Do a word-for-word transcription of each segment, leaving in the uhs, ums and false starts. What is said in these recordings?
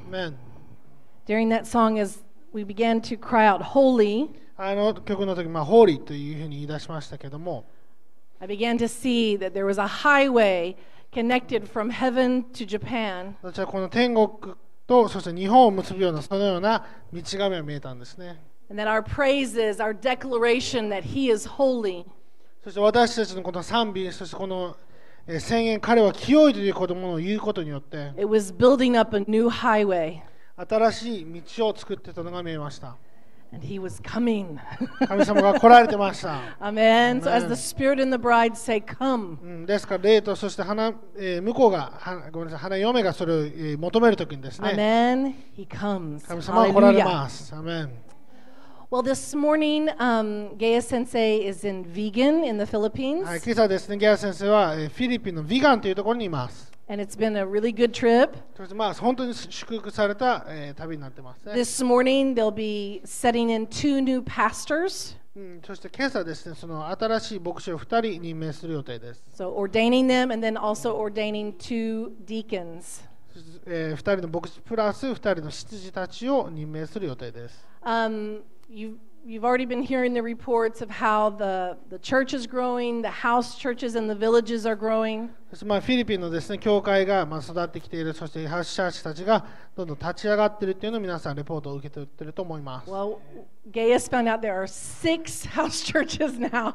Amen. During that song, as we began to cry out, Holy, あの曲の時、まあ、ホーリーというふうに言い出しましたけども、 I began to see that there was a highway connected from heaven to Japan. 私はこの天国とそして日本を結ぶようなそのような道が見えたんですね。 And that our praises, our declaration that He is holy, そして私たちのこの賛美、そしてこのえー宣言、彼は清いということものを言うことによって、 it was building up a new highway. 新しい道を作っていたのが見えました。 And He was coming. 神様が来られてました。 Amen. So Amen. as the Spirit and the bride say, Come. うん、ですから、霊とそして花、えー向こうが、はごめんなさい、花嫁がそれを、えー求めるときにですね、 Amen. He comes. 神様が来られ Hallelujah. ます。アメン。 Well, this morning, um, Gaya Sensei is in Vigan in the Philippines. はい、今朝ですね、ギャラ先生は、えーフィリピンのビガンというところにいます。 And it's been a really good trip. そしてまあ本当に祝福された、えー旅になってますね。 This morning, they'll be setting in two new pastors. うん、そして今朝ですね、その新しい牧師をふたり任命する予定です。 So ordaining them and then also ordaining two deacons. そしてえー、ふたりの牧師プラスふたりの執事たちを任命する予定です。 Um, you've, you've already been hearing the reports of how the, the church is growing, the house churches and the villages are growing. そしてまあフィリピンのですね、教会がまあ育ってきている、そしてハウスチャーチたちがどんどん立ち上がっているというのを皆さんレポートを受け取っていると思います。 Well, Gaius found out there are six house churches now.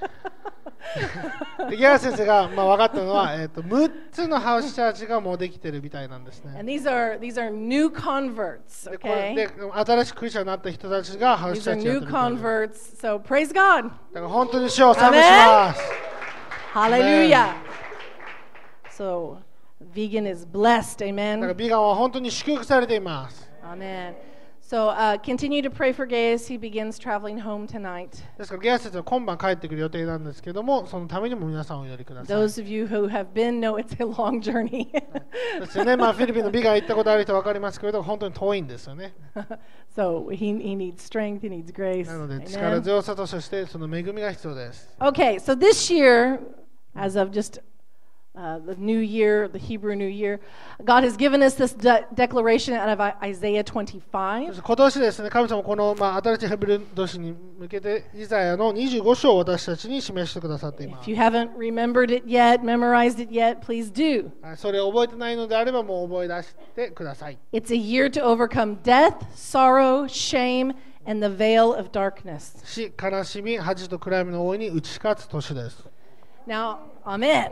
でギャラ先生がまあ分かったのは、えー、とむっつのハウスチャーチがもうできているみたいなんですね。 And these are these are new converts, でこれ okay? で新しくクリスチャンになった人たちがハウス These チャ are ーチやっ new てるみたいです。 converts. So praise God. だから本当に主を賛美します。 Hallelujah. So vegan is blessed. だから Amen. ビガンは本当に祝福されています。 Amen. So uh, continue to pray for Gaius. He begins traveling home tonight. ですからギャラ先生は今晩帰ってくる予定なんですけども、そのためにも皆さんお祈りください。 Those of you who have been know it's a long journey. そしてね、まあ、フィリピンのビガン行ったことある人は分かりますけれど、本当に遠いんですよね。 So he, he needs strength, he needs grace. なので力 Amen. 強さとそしてその恵みが必要です。 Okay, so this year, as of just uh, the new year, the Hebrew New Year, God has given us this de- declaration out of Isaiah そ twenty-five. して今年ですね、神様この、まあ、新しいヘブル年に向けてイザヤのにじゅうご章を私たちに示してくださっていま If す。 you haven't remembered it yet, memorized it yet, please do. はいそれを覚えてないのであればもう覚え出してください。 It's a year to overcome death, sorrow, shame, and the veil of darkness. 死、悲しみ、恥と暗闇の大いに打ち勝つ年です。 Now, amen.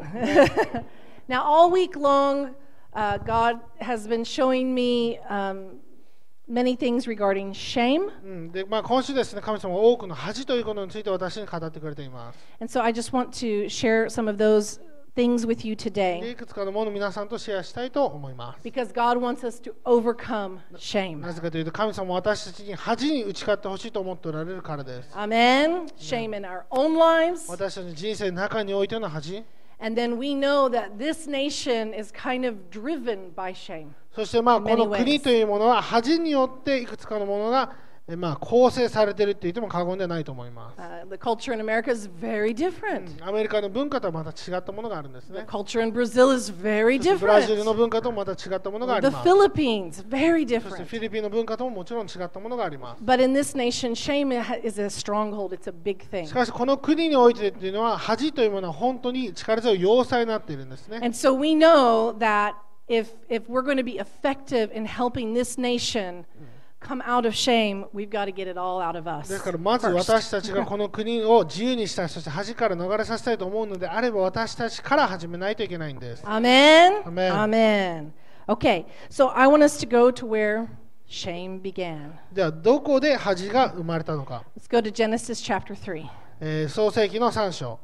Now, all week long, uh, God has been showing me um, many things regarding shame. うんでまあ、今週ですね、神様は多くの恥ということについて私に語ってくれています。 And so I just want to share some of those things with you で today いくつかのものを皆さんとシェアしたいと思います。 because God wants us to overcome shame. なぜかというと、神様は私たちに恥に打ち勝ってほしいと思っておられるからです。 Amen. Shame in our own lives. 私たちの人生の中においての恥、 And then we know that this nation is kind of driven by shame. そしてまあ In こ many の ways. 国というものは恥によっていくつかのものがえまあ構成されているって言っても過言ではないと思います。 Uh, the culture in America is very different. アメリカの文化とはまた違ったものがあるんです The ね。 culture in Brazil is very そしてブラジルの different. 文化ともまた違ったものがあり The ます。 Philippines, very そして different. フィリピンの文化とももちろん違ったものがあります。 But in this nation, shame is a stronghold. It's a big thing. しかしこの国においてというのは恥というものは本当に力強い要塞になっているんですね。 And so we know that if if we're going to be effective in helping this nation come out of shame, we've got to get it all out of us. ですからまず first. 私たちがこの国を自由にしたい、そして恥から逃れさせたいと思うのであれば私たちから始めないといけないんです。 Amen. Amen. Amen. Okay, so I want us to go to where shame began. ではどこで恥が生まれたのか、 Let's go to Genesis chapter three. えー創世記のさん章。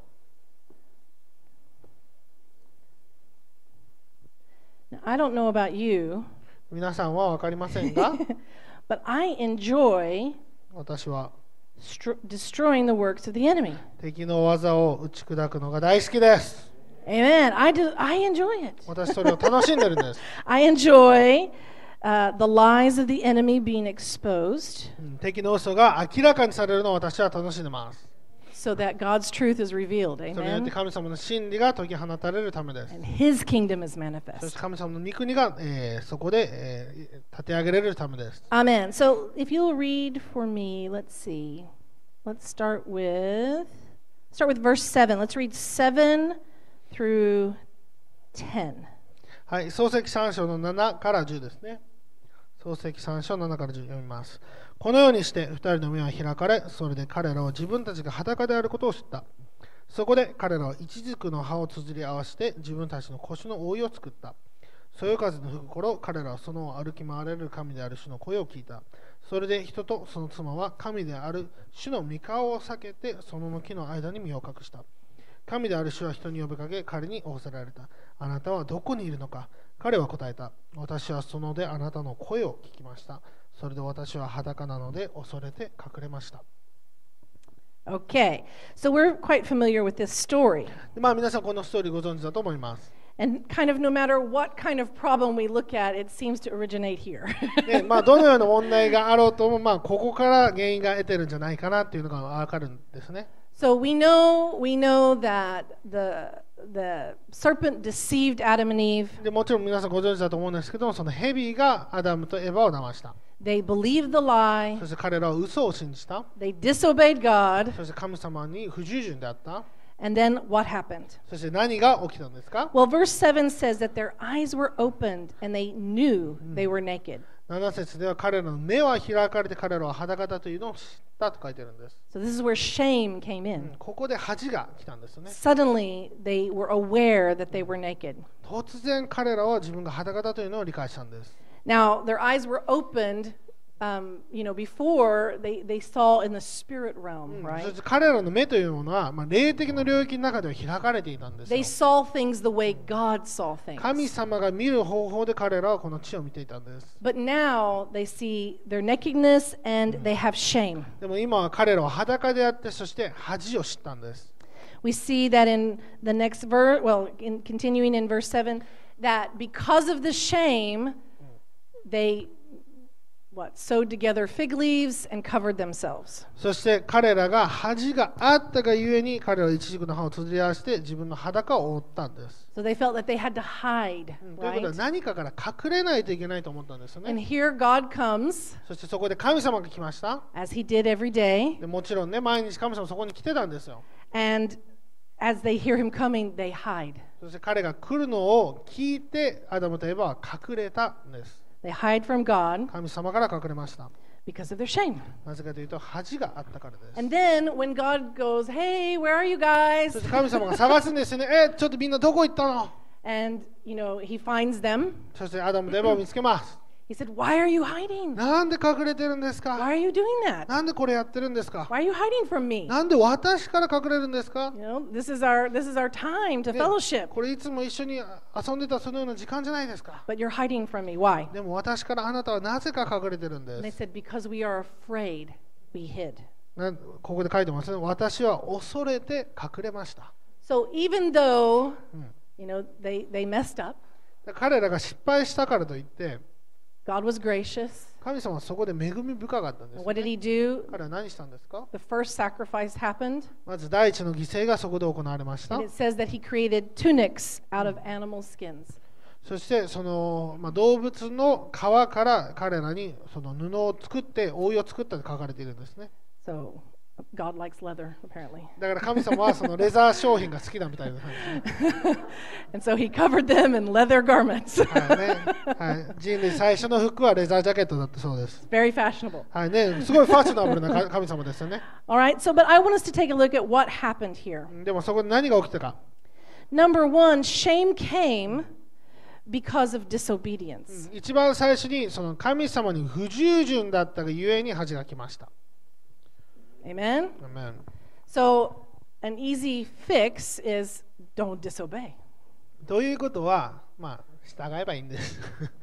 Now, I don't know about you, 皆さんは分かりませんが but I enjoy 私は stro- destroying the works of the enemy. 敵の技を打ち砕くのが大好きです。 Amen. I do. I enjoy it. 私それを楽しんでるんです。 I enjoy uh, the lies of the enemy being exposed. うん敵の嘘が明らかにされるのを私は楽しんでます。 so that God's truth is revealed. それによって Amen. 神様の真理が解き放たれるためです。 And His kingdom is そし manifest. て神様の御国が、えーそこで、えー立て上げられるためです。 Amen. So if you'll read for me, let's see. Let's start with start with verse seven. Let's read seven through ten. はい、創世記さん章のななからじゅうですね。創世記さん章ななからじゅう読みます。このようにして二人の目は開かれ、それで彼らは自分たちが裸であることを知った。そこで彼らは一軸の葉を綴り合わせて自分たちの腰の覆いを作った。そよ風の吹く頃、彼らはその歩き回れる神である主の声を聞いた。それで人とその妻は神である主の御顔を避けてその木の間に身を隠した。神である主は人に呼びかけ、彼に仰せられた。あなたはどこにいるのか。彼は答えた。私はそのであなたの声を聞きました。それで私は裸なので恐れて隠れました。 Okay, so we're quite familiar with this story. でまあ、皆さんこのストーリーご存知だと思います。 And kind of no matter what kind of problem we look at, it seems to originate here. でまあ、どのような問題があろうとも、まあ、ここから原因が得てるんじゃないかなっていうのが分かるんですね。 So we know we know that the the serpent deceived Adam and Eve. でもちろん皆さんご存知だと思うんですけども、そのヘビがアダムとエバを騙した。 They believed the lie. そして彼らは嘘を信じた。 They disobeyed God. そして神様に不従順であった。 And then what happened? そして何が起きたんですか？ Well, verse seven says that their eyes were opened and they knew they were naked. なな節では彼らの目は開かれて彼らは裸だというのを知ったと書いてあるんです。 So this is where shame came うん in. ここで恥が来たんですね。 Suddenly they were aware that they were naked. 突然彼らは自分が裸だというのを理解したんです。 Now, their eyes were opened, um, you know, before they, they saw in the spirit う realm, ん right? そして彼らの目というものは、まあ、霊的な領域の中では開かれていたんです They よ。 saw things the way God saw 神 things. 様が見る方法で彼らはこの地を見ていたんです。 But now they see their nakedness and they have shame. でも今は彼らは裸であって、そして恥を知ったんです。 We see that in the next verse, well, in continuing in verse seven, that because of the shame, they what sewed together fig leaves and covered themselves. そして彼らが恥があったがゆえに彼らは一軸の葉を綴り合わせて自分の裸を覆ったんです。 So they felt that they had to hide, うんということは right? 何かから隠れないといけないと思ったんですよ And ね。 here God comes, そしてそこで神様が来ました。 as he did every day, でもちろんね、毎日神様そこに来てたんですよ。 and as they hear him coming, they hide. そして彼が来るのを聞いてアダムとエバは隠れたんです。 They hide from God 神様から隠れました。 because of their shame. なぜかというと恥があったからです。 And then when God goes, hey, where are you guys? そして神様が探すんですよね。え、ちょっとみんなどこ行ったの？ And, you know, he finds them. そしてアダムとエバを見つけます。 He said, why are you hiding? なんで隠れてるんです Why か？ are you doing that? なんでこれやってるんですか？ Why are you hiding from me? なんで私から隠れるんですか？ You know, this is our this is our time to ね fellowship. これいつも一緒に遊んでたそのような時間じゃないですか。 But you're hiding from me. Why? でも私からあなたはなぜか隠れてるん And で they す。 said, because we are afraid, we hid. なんここで書いてますね。私は恐れて隠れました。 So even though, うん you know, they, they messed up, 彼らが失敗したからといって、 God was gracious. 神様はそこで恵み深かったんです And よ what did ね。 he do? 彼は何したんですか？ The first sacrifice happened. まず第一の犠牲がそこで行われました And。it says that he created tunics out of animal skins. そしてその、まあ、動物の皮から彼らにその布を作って覆いを作ったと書かれているんですね。 So God likes leather, apparently. だから神様はそのレザー商品が好きだみたいな感じですね。 And so he covered them in leather garments. はいねはい、人類最初の服はレザージャケットだったそうです。 Very fashionable. はいね、すごいファッショナブルなか神様ですよね。 All right, so but I want us to take a look at what happened here. でもそこで何が起きたか。 Number one, shame came because of disobedience. 一番最初にその神様に不従順だったがゆえに恥が来ました。 Amen? Amen. So an easy fix is don't disobey. ということは、まあ、従えばいいんです。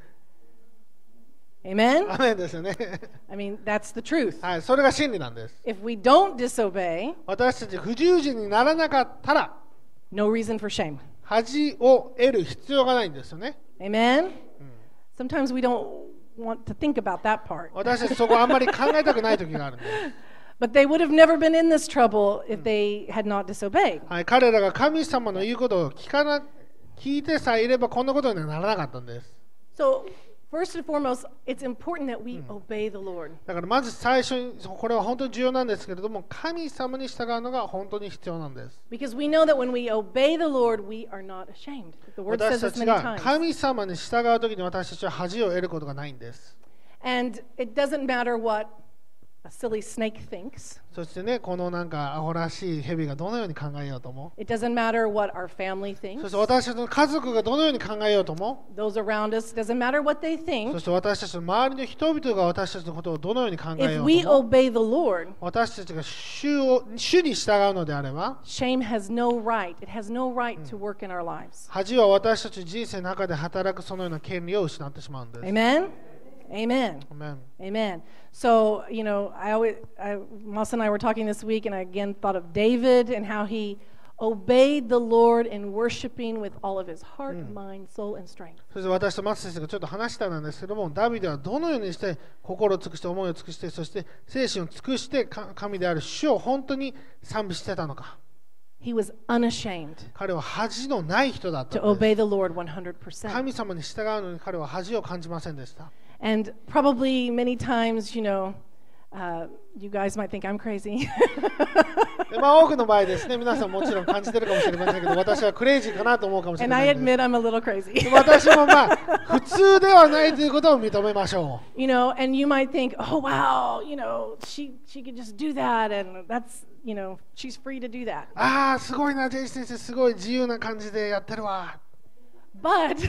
Amen? アメンですよね。 I mean, that's the truth. はい、それが真理なんです。 If we don't disobey, 私たち不従順にならなかったら、 no reason for shame. 恥を得る必要がないんですよね。 Amen? Sometimes we don't want to think about that part. 私たちそこあんまり考えたくない時があるんです。 But they would have never been in this trouble if they had not disobeyed. はい、彼らが神様の言うことを聞かな聞いてさえいればこんなことにはならなかったんです。 So, first and foremost, it's important that we obey the Lord. だからまず最初にこれは本当に重要なんですけれども、神様に従うのが本当に必要なんです。 Because we know that when we obey the Lord, we are not ashamed. The word says 私た this ち many が times. 神様に従うときに私たちは恥を得ることがないんです。 And it doesn't matter what a silly snake thinks. そしてね、このなんかアホらしい蛇がどのように考えようとも、 It doesn't matter what our family そ thinks. して私たちの家族がどのように考えようとも、 Those around us, doesn't matter what they そ think. して私たちの周りの人々が私たちのことをどのように考え If よ we うとも、 obey the Lord, 私たちが主を主に従うのであれば、 shame has no right. It has no right to work in our lives. 恥は私たち人生の中で働くそのような権利を失ってしまうんです。 Amen? Amen. Amen. Amen. So, you know, I always, I, Moss and I were talking this week, and I again thought of David and how he obeyed the Lord in worshiping with all of his heart, mind, soul, and strength. そして私と松先生がちょっと話したんですけども、ダビデはどのようにして心を尽くして思いを尽くして、そして精神を尽くして神である主を本当に賛美してたのか。 He was unashamed 彼は恥のない人だった to んで obey す。 the Lord one hundred percent. 神様に従うのに彼は恥を感じませんでした。 And probably many times, you know, uh, you guys might think I'm crazy. でまあ、多くの場合ですね、皆さんもちろん感じてるかもしれませんけど、私はクレイジーかなと思うかもしれ And な I いんです。 admit I'm a little crazy. 私もまあ普通ではないということを認めましょ You know, and you might think, oh, wow, you know, she, she could just do that, and that's, you know, she's free to do that. う。ああ、すごいな、ジェイ先生、すごい自由な感じでやってるわ。 But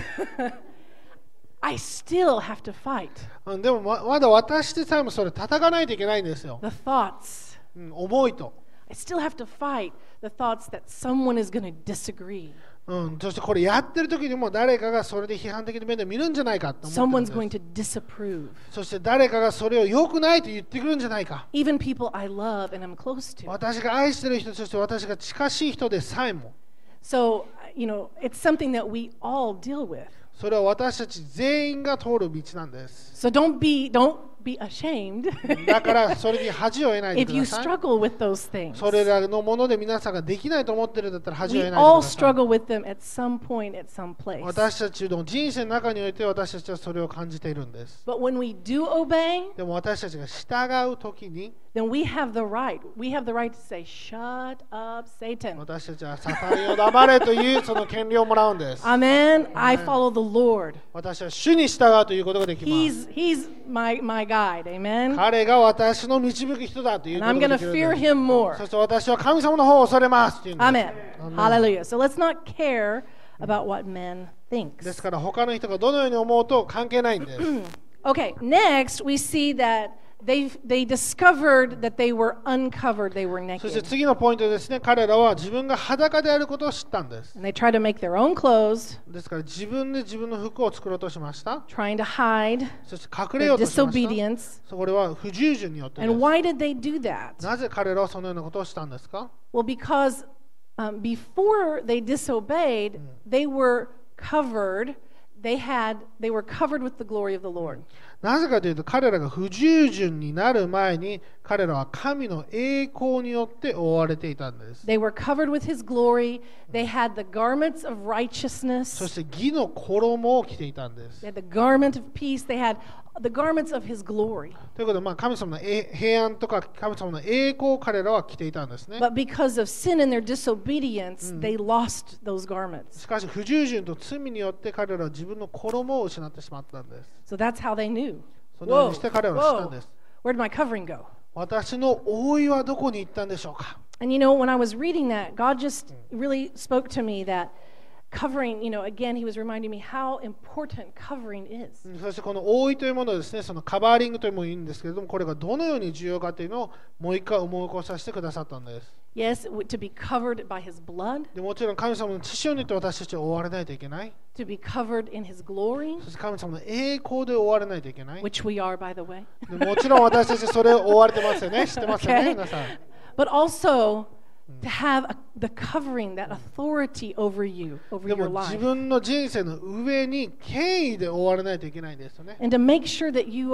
I still have to fight うん、でもままだ私でさえもそれ叩かないといけないんですよ。 the thoughts. うん、思いと。 I still have to fight the thoughts that someone is going to disagree. うん、そしてこれやってる時にも誰かがそれで批判的な目で見るんじゃないかと思って Someone's る going んで to す。 disapprove. そして誰かがそれを良くないと言ってくるんじゃないか。 Even people I love and I'm close to. 私が愛してる人、そして私が近しい人でさえも、 So, you know, it's something that we all deal with. それは私たち全員が通る道なんです。 So don't be don't be ashamed だからそれに恥を得ないで if く you ださい。 struggle with those things. それらのもので皆さんができないと思ってるんだったら恥を We 得ないで all ください。 struggle with them at some point, at some place. 私たちの人生の中において私たちはそれを感じているんです。 But when we do obey, でも私たちが従うときに、 then we have the right. We have the right to say, "Shut up, Satan." 私たちはサタンよ黙れというその権利をもらうんです。 Amen. I follow the Lord. 私は主に従うということができます。 He's He's my my guide. Amen. 彼が私の導く人だという And こと I'm が going で to きるん fear です。 him more. そして私は神様の方を恐れますっていうんです。 Amen. Amen. Hallelujah. So let's not care about what men で thinks. すから他の人がどのように思うと関係ないんです。 Okay, next we see that they they discovered that they were uncovered, they were そして naked. 次のポイントですね、彼らは自分が裸であることを知ったんです。 And they tried to make their own clothes, ですから自分で自分の服を作ろうとしました。 trying to hide そして隠れよ their うとしました。 disobedience. それは不従順によってで And す。 why did they do that? なぜ彼らはそのようなことをしたんですか？ Well, because um, before they disobeyed, they were covered. They had they were covered with the glory of the Lord. なぜかというと彼らが不従順になる前に彼らは神の栄光によって覆われていたんです。 They were covered with His glory. They had the garments of そ righteousness. して義の衣を着ていたんです。 They had the garment of peace. They had the garments of His glory. ということで、まあ、神様のえ平安とか神様の栄光を彼らは着ていたんですね。 But because of sin and their disobedience, they lost those garments. しかし不従順と罪によって彼らは自分の衣を失ってしまったんです。 So that's how they knew. そのよう Whoa, にして彼らは知ったん whoa, です。 where did my covering go? 私の覆いはどこに行ったんでしょうか？ And you know, when I was reading that, God just really spoke to me that covering, you know, again, He was reminding me how important covering is. そしてこの覆いというものですね、そのカバーリングというものを言うんですけれども、これがどのように重要かというのをもう一回思い起こさせてくださったんです。 Yes, to be covered by His blood, でもちろん神様の血潮によって私たちは覆われないといけない。 to be covered in His glory, そして神様の栄光で覆われないといけない。 which we are, by the way. でもちろん私たちそれを覆われてますよね。知ってますよね、 Okay. 皆さん。 But also to have a, the covering, that authority over you, over で your も自 life. 分の人生の上に権威で覆われないといけないんですよね。 And to make sure that you are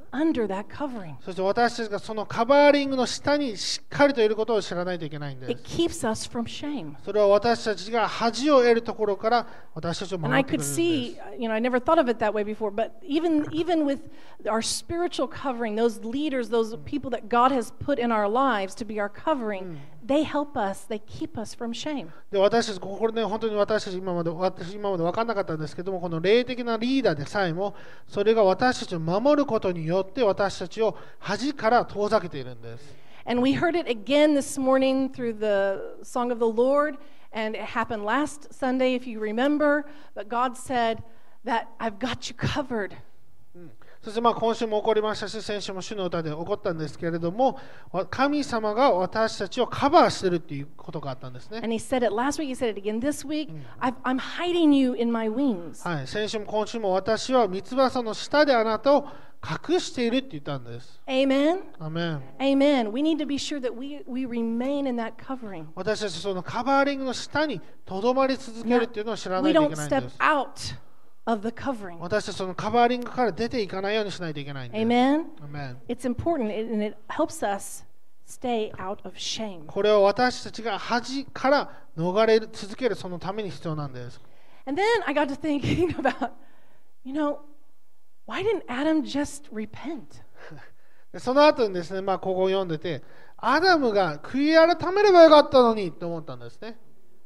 under that covering. そして私たちがそのカバーリングの下にしっかりといることを知らないといけないんで It す。 keeps us from shame. それは私たちが恥を得るところから私たちを And 守 I ってくれ could るん see, です。 you know, I never thought of it that way before, but even even with our spiritual covering, those leaders, those people that God has put in our lives to be our covering, they help us, they keep us from shame. で私たち、これね、本当に私たち今まで、私今まで分からなかったんですけども、この霊的なリーダーでさえも、それが私たちを守ることによって私たちを恥から遠ざけているんです。 And we heard it again this morning through the Song of the Lord, and it happened last Sunday, if you remember. But God said that I've got you covered. そしてまあ今週も起こりましたし、先週も主の歌で起こったんですけれども、神様が私たちをカバーしているっていうことがあったんですね。 And he said it last week, he said it again this week. I've, I'm hiding you in my wings. はい、先週も今週も私は三翼の下であなたを隠しているって言ったんです。 Amen? アメン。 Amen. We need to be sure that we, we remain in that covering. 私たちそのカバーリングの下にとどまり続けるっていうのを知らな We いとい don't けないん step です。 out of the covering. 私たちそのカバーリングから出ていかないようにしないといけないんです。 Amen? アメン。 It's important, and it helps us stay out of shame. これは私たちが恥から逃れ続けるそのために必要なんです。 And then I got to thinking about, you know, why didn't Adam just repent? でその後にですね、まあ、ここを読んでて、アダムが悔い改めればよかったのにと思ったんですね。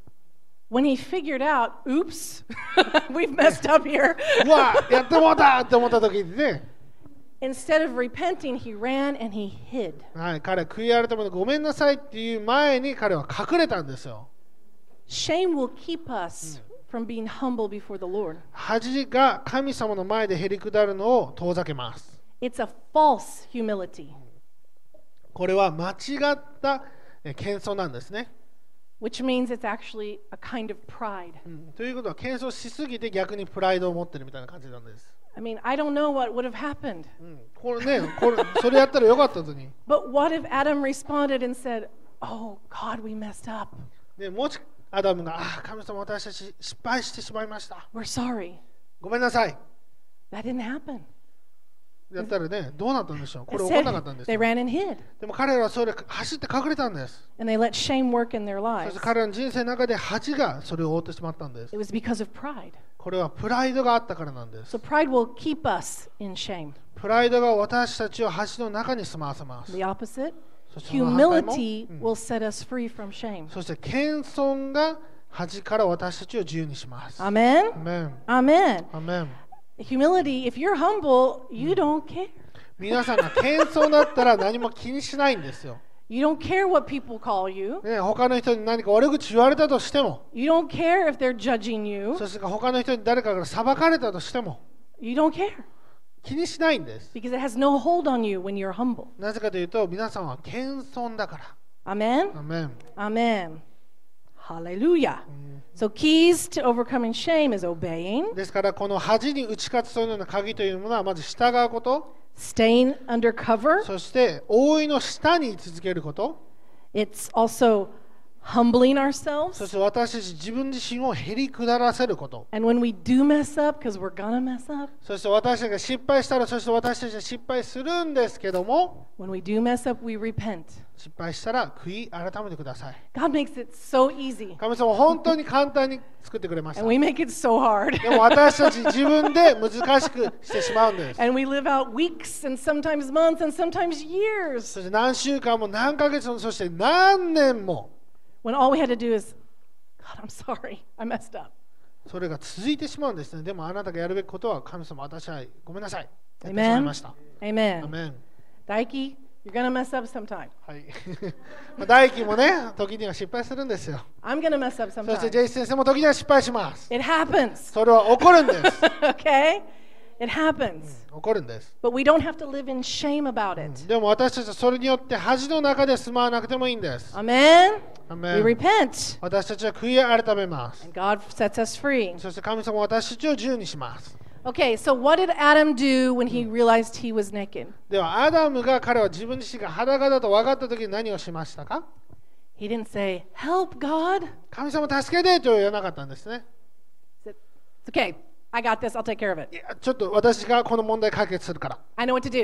When he figured out, oops, we've messed up here. うわ、やってもうたって思った時にね、 Instead of repenting, he ran and he hid. はい、彼は悔い改めてごめんなさいっていう前に彼は隠れたんですよ。 Shame will keep us from being humble before the Lord. 恥が神様の前でへりくだるのを遠ざけます。 It's a false humility, これは間違ったえ謙遜なんですね。 which means it's actually a kind of pride. うんということは謙遜しすぎて逆にプライドを持ってるみたいな感じなんです。 I mean, I don't know what would have happened. うんこれね、これそれやったらよかったのに。 But what if Adam responded and said, oh, God, we messed up. でもしアダムが、ああ、神様私たち失敗してしまいました。 We're sorry. ごめんなさい。 That didn't happen. やったらね、どうなったんでしょう。これ起こ Instead, らなかったんです they よ。 ran and hid, でも彼らはそれ走って隠れたんです。 and they let shame work in their そ lives. して彼らの人生の中で恥がそれを覆ってしまったんです。 It was because of pride. これはプライドがあったからなんです So。pride will keep us in shame. プライドが私たちを恥の中に住まわせます。 The opposite, そしてその反対も、 humility うん will set us free from shame. そして謙遜が恥から私たちを自由にします。ア Amen? メン。 Amen. アメン。 Humility, if you're humble, you don't care. 皆さんが謙遜だったら何も気にしないんですよ。 You don't care what people call you. ね、他の人に何か悪口言われたとしても、 You don't care if they're judging you. そして他の人に誰かから裁かれたとしても、 You don't care 気にしないんです。 because it has no hold on you when you're humble. なぜかというと、皆さんは謙遜だから。 Amen? アメン。 Amen. Hallelujah. So keys to overcoming shame is obeying, ですから、この恥に打ち勝つそのような鍵というものは、まず従うこと、 staying under cover. そして覆いの下に居続けること、 It's also humbling そ ourselves. して私たち自分自身をへり下らせること、 And when we do mess up, because we're gonna mess up, そして私たちが失敗したら、そして私たちが失敗するんですけども、 when we do mess up, we repent. 失敗したら悔い改めてください。 God makes it so easy, 神様は本当に簡単に作ってくれました。 and we make it so hard. でも私たち自分で難しくしてしまうんです。 And we live out weeks and sometimes months and sometimes years そして何週間も何ヶ月も、そして何年も、 when all we had to do is, God, I'm sorry, I messed up. それが続いてしまうんですね。でもあなたがやるべきことは、神様、私はごめんなさい。やってしまいました。 Amen. アメン。 Daiki, you're gonna mess up sometime. はい。まあ大輝もね、時には失敗するんですよ。 I'm gonna mess up そして sometime. ジェイス先生も時には失敗します。 It happens. それは起こるんです。 Okay? It happens. 起こるんです。 But we don't have to live in shame about it. でも私たちはそれによって恥の中で住まわなくてもいいんです。 Amen? ア We メン。 repent, 私たちは悔い改めます。 and God sets us free. そして神様は私たちを自由にします。 Okay, so what did Adam do when he realized he was naked? では、アダムが彼は自分自身が裸だと分かったときに何をしましたか？ He didn't say, Help, God. 神様助けてとは言わなかったんですね。 He said, It's okay. I got this. I'll take care of it. いや、ちょっと私がこの問題解決するから。 I know what to do.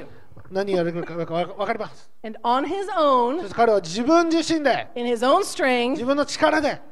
何やるか分かります。 And on his そ own, して彼は自分自身で in his own 自 strength, 分の力で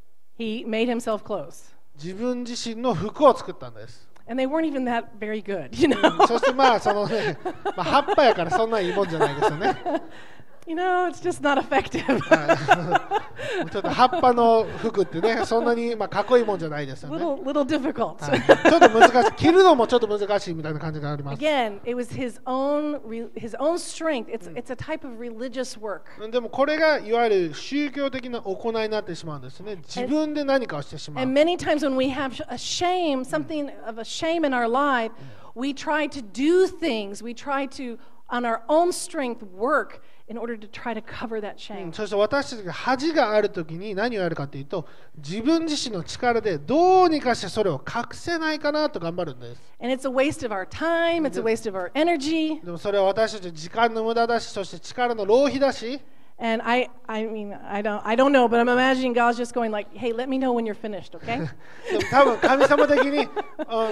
he made himself clothes. 自分自身の服を作ったんです。 And they weren't even that very good, you know. そしてまあそのね、まあ、葉っぱやからそんないいもんじゃないですよね。 You know, it's just not effective. ちょっと葉っぱの服ってね、そんなにまあかっこいいもんじゃないですよね。 little, little difficult. はい、ちょっと難しい、着るのもちょっと難しいみたいな感じがあります。 Again, it was his own, re- his own strength. It's, it's a type of religious work. でもこれがいわゆる宗教的な行いになってしまうんですね。自分で何かをしてしまう。 And many times when we have a shame, something of a shame in our life, we try to do things, we try to, on our own strength, work in order to try to cover that う shame. ん、そして私たちが恥があるときに何をやるかというと、自分自身の力でどうにかしてそれを隠せないかなと頑張るんです。 And it's a waste of our time, it's a waste of our energy. でもそれは私たちの時間の無駄だし、そして力の浪費だし、 And I, I mean, I don't, I don't know, but I'm imagining God's just going like, "Hey, let me know when you're finished, okay?" でも多分神様的に、うん、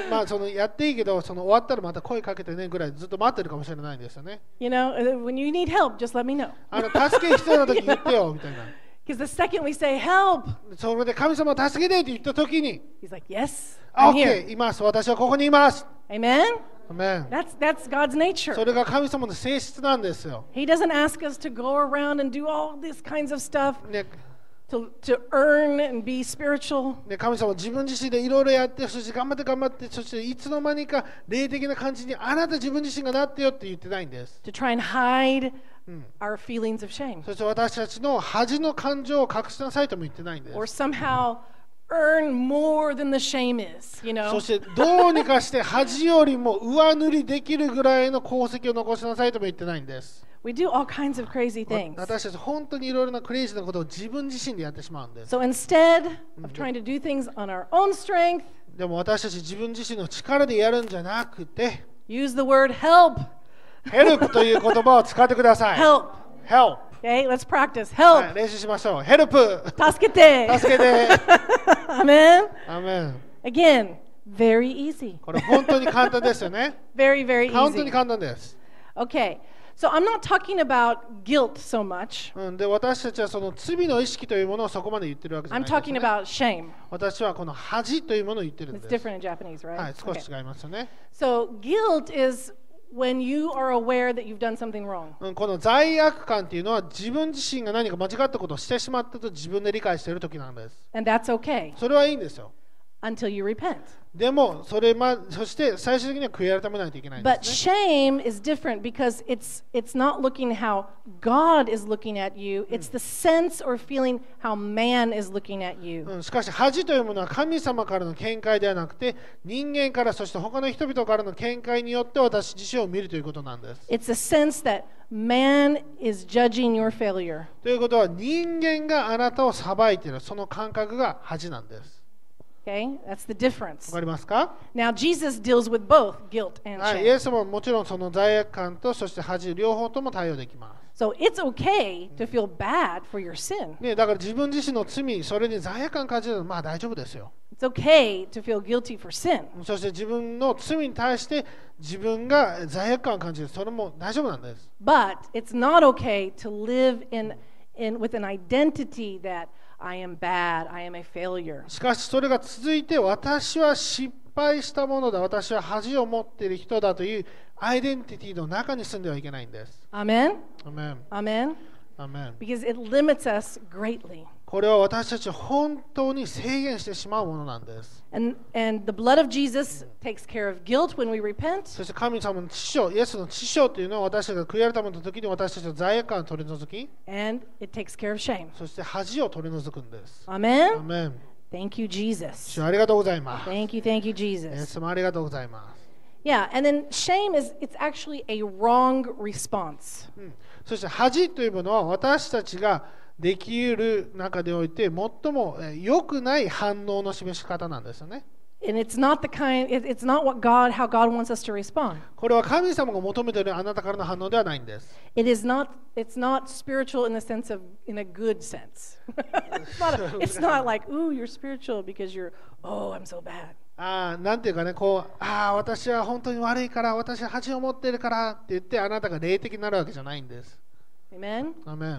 まあそのやっていいけど、その終わったらまた声かけてねぐらいずっと待ってるかもしれないんですよね。 You know, uh, when you need help, just let me know. あの助け必要な時言ってよみたいな。 Because the second we say help, それで神様助けてって言った時に、 He's like, "Yes, あ、 I'm here." OK、います。私はここにいます。 Amen. アメン。 That's that's God's nature. それが神様の性質なんですよ。 He doesn't ask us to go around and do all these kinds of stuff ね to to earn and be spiritual. ね、神様は自分自身でいろいろやって、そして頑張って頑張って、そしていつの間にか霊的な感じにあなた自分自身がなってよって言ってないんです。 To try and hide our feelings of shame, そして私たちの恥の感情を隠しなさいとも言ってないんです。 or somehow earn more than the shame is, you そ know. してどうにかして恥よりも上塗りできるぐらいの功績を残しなさいとも言ってないんです。 We do all kinds of crazy things. 私たち本当にいろいろなクレイジーなことを自分自身でやってしまうんです。 So instead of trying to do things on our own strength, でも私たち自分自身の力でやるんじゃなくて、 use the word help. help という言葉を使ってください。 Help. help。 Okay, let's practice. はい、 Help. 練習しましょう。help。 助けて。 助けて。 Amen. アメン。 Again, very easy. これ本当に簡単ですよね。 Very, very 本当に easy. 簡単です。 Okay, so I'm not talking about guilt so much. うん、で私たちはその罪の意識というものをそこまで言ってるわけじゃ I'm ないです、ね。 talking about shame. 私はこの恥というものを言ってるん It's です。 different in Japanese, はい、 right? 少 Okay. し違いますよね。 So guilt is when you are aware that you've done something wrong. うん、この罪悪感っていうのは自分自身が何か間違ったことをしてしまったと自分で理解している時なんです。 And that's okay それはいいんですよ。 until you repent. でもそれまそして最終的には悔い改めないといけないんで But すね。 shame is different because it's it's not looking how God is looking at you. It's the sense or feeling how man is looking at you. うん、しかし恥というものは神様からの見解ではなくて人間からそして他の人々からの見解によって私自身を見るということなんです。 It's a sense that man is judging your failure. ということは人間があなたを裁いているその感覚が恥なんです。 Okay? That's the わ difference. かりますか？ Now Jesus deals with both guilt and はい、イ shame. エスももちろんその罪悪感とそして恥両方とも対応できます。 So it's okay to feel bad for your sin. ね、だから自分自身の罪、それに罪悪感感じるのはまあ大丈夫ですよ。 It's okay to feel guilty for sin. そして自分の罪に対して自分が罪悪感を感じる、それも大丈夫なんです。 But it's not okay to live in, in with an identity that I am bad, I am a failure. しかしそれが続いて私は失敗したものだ、私は恥を持っている人だというアイデンティティの中に住んではいけないんです。 Amen? アメン。 Amen? アメン。 Because it limits us greatly. これは私たちを本当に制限してしまうものなんです。 And, and the blood of Jesus takes care of guilt when we repent. そして神様の知性、イエスの知性というのは私たちが悔い改めた時に私たちの罪悪感を取り除き、 And it takes care of shame. そして恥を取り除くんです。ア Amen? メン。 Thank you, Jesus. 主ありがとうございます。 Thank you, thank you, イエ Jesus. ス様ありがとうございます。 Yeah, and then shame is, it's actually a wrong response. うん、そして恥というものは私たちができる中でおいて最も良くない反応の示し方なんですよね。 And it's not the kind, it, it's not what God, how God wants us to respond. これは神様が求めているあなたからの反応ではないんです。 It is not, it's not spiritual in the sense of, in a good sense. it's, not a, it's not like, ooh, you're spiritual because you're, oh, I'm so bad. あーなんていうかね、こう、ああ、私は本当に悪いから、私は恥を持っているからって言って、あなたが霊的になるわけじゃないんです。 Amen? アメン。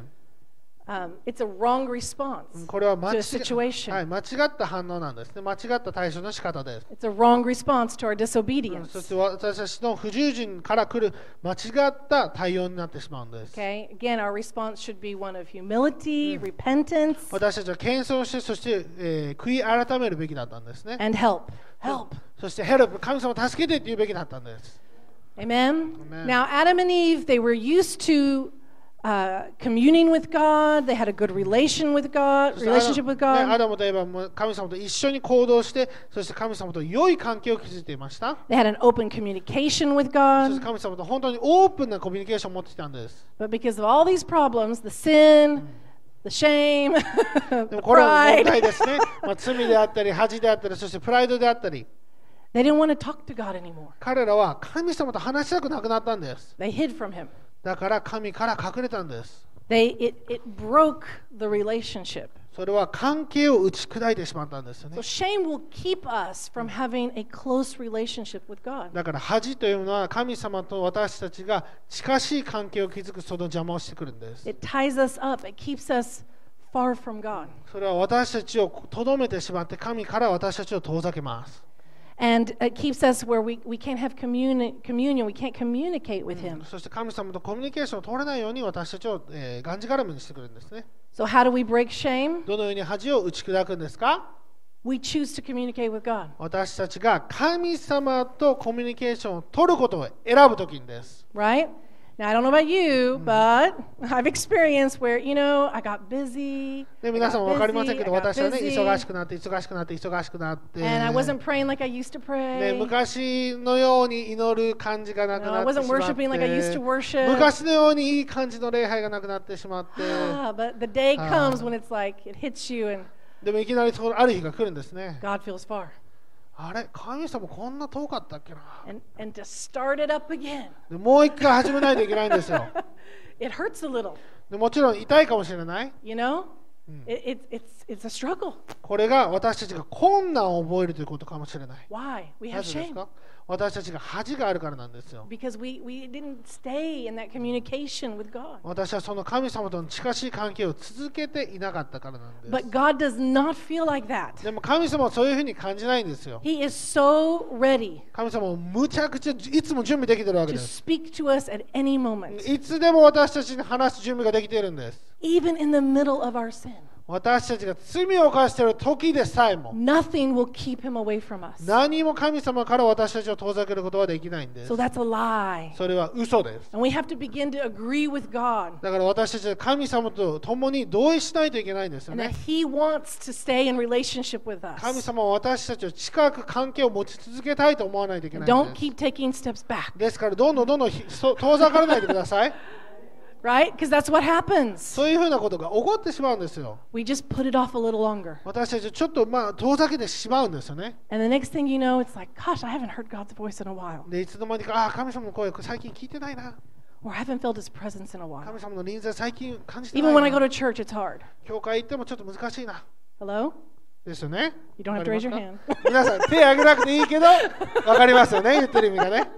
Um, it's a wrong response これは間 to 違 a situation. はい、間違った反応なんですね。間違った対処の仕方です。 It's a wrong response to our うんそ disobedience. して私たちの不従順から来る間違った対応になってしまうんです。 Okay? Again, our response should be one of humility, repentance, 私たちは謙遜して、そして、えー悔い改めるべきだったんですね。 and help. Help. そして、ヘルプ、神様を助けてって言うべきだったんです。 Amen? Amen. Now, Adam and Eve, they were used to uh, communing with God. They had a good relation with God, そして relationship with アダね God. アダムといえばもう神様と一緒に行動して、そして神様と良い関係を築いていました。 They had an open communication with そして God. 神様と本当にオープンなコミュニケーションを持ってきたんです。 But because of all these problems, the sin, the shame, で the もこれは問 pride, 題ですね。まあ、罪であったり、恥であったり、そしてプライドであったり、 they didn't want to talk to God anymore. 彼らは神様と話したくなくなったんです。 They hid from Him. だから神から隠れたんです。 They, it, it broke the relationship. それは関係を打ち砕いてしまったんですよね So。shame will keep us from having a close relationship with God. だから恥というのは神様と私たちが近しい関係を築くその邪魔をしてくるんです。 It ties us up. It keeps us far from God. それは私たちをとどめてしまって神から私たちを遠ざけます。 And it keeps us where we, we can't have communi- communion. We can't communicate with Him. そして神様とコミュニケーションを取れないように私たちを、えー、がんじがらめにしてくるんですね。 So how do we break shame? どのように恥を打ち砕くんですか？ We choose to communicate with God. 私たちが神様とコミュニケーションを取ることを選ぶときにです。 Right? Now, I don't know about you, but I've experienced where, you know, I got busy. で I 皆さん got も分かりません busy, けど、 I got 私はね、 busy, 忙しくなって、忙しくなって、忙しくなって、 and I wasn't praying like I used to ね、 pray. 昔のように祈る感じがなく No, な I ってし wasn't まっ worshiping like I used to て、 worship. 昔のようにいい感じの礼拝がなくなってしまって、 Ah, but the day Ah. comes when it's like it hits you and でもいきなりそのある日が来るんですね。 God feels far. あれ、神様こんな遠かったっけな。 And, and to start it up again, でもう一回始めないといけないんですよ。 it hurts a little, でもちろん痛いかもしれない。 you know? It, it, it's, it's a struggle. これが私たちが困難を覚えるということかもしれない。 Why? We な have ぜです shame. か？私たちが恥があるからなんですよ。 Because we, we didn't stay in that communication with God. 私はその神様との近しい関係を続けていなかったからなんです。 But God does not feel like that. でも神様はそういうふうに感じないんですよ。 He is so ready 神様もむちゃくちゃいつも準備できてるわけ to です。 speak to us at any moment, いつでも私たちに話す準備ができているんです。 even in the middle of our sin. 私たちが罪を犯している時でさえも Nothing will keep him away from us. 何も神様から私たちを遠ざけることはできないんです So。that's a lie. それは嘘です。 And we have to begin to agree with God だから私たちは神様と共に同意しないといけないんですよ and that ね。 He wants to stay in relationship with 神 us. 様は私たちを近く関係を持ち続けたいと思わないといけないん Don't です。 keep taking steps back, ですからどんどんどんどんひそ遠ざからないでください。 right? Because that's what happens. そういうふうなことが起こってしまうんですよ。 We just put it off a little longer. 私たちちょっとまあ遠ざけてしまうんですよね。 And the next thing you know, it's like, gosh, I haven't heard God's voice in a while. でいつの間にかああ神様の声最近聞いてないな。 Or I haven't felt His presence in a 神 while. 様の臨在最近感じてな Even い when I go な。 to church, it's hard. 教会行ってもちょっと難しいな。 Hello? ですよね。 You don't have to raise your hand. 皆さん手挙げなくていいけどわかりますよね言ってる意味がね。